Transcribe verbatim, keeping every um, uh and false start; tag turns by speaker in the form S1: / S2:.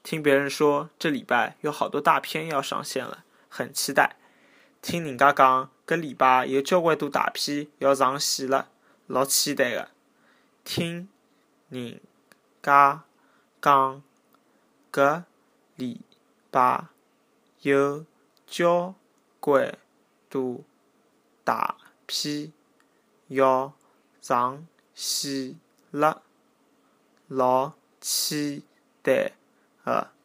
S1: 听别人说这礼拜有好多大片要上线了，很期待。听人家讲搿礼拜有交关多大片要上线了，老期待的。听人家讲搿礼拜有交关多大片要上线了，老期待的。